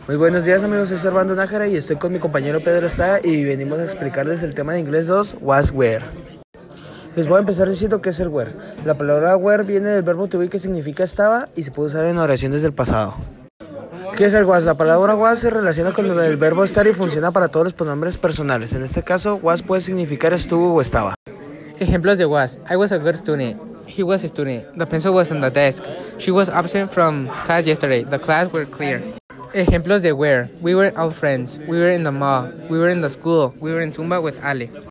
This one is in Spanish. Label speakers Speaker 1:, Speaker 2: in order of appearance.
Speaker 1: Muy buenos días amigos, soy Servando Nájera y estoy con mi compañero Pedro Estrada y venimos a explicarles el tema de inglés 2, was, where. Les voy a empezar diciendo qué es el where. La palabra where viene del verbo to be que significa estaba y se puede usar en oraciones del pasado. ¿Qué es el was? La palabra was se relaciona con el verbo estar y funciona para todos los pronombres personales. En este caso, was puede significar estuvo o estaba.
Speaker 2: Ejemplos de was. I was a good student. He was a student. The pencil was on the desk. She was absent from class yesterday. The class were clear. Ejemplos de where. We were all friends. We were in the mall. We were in the school. We were in Zumba with Ale.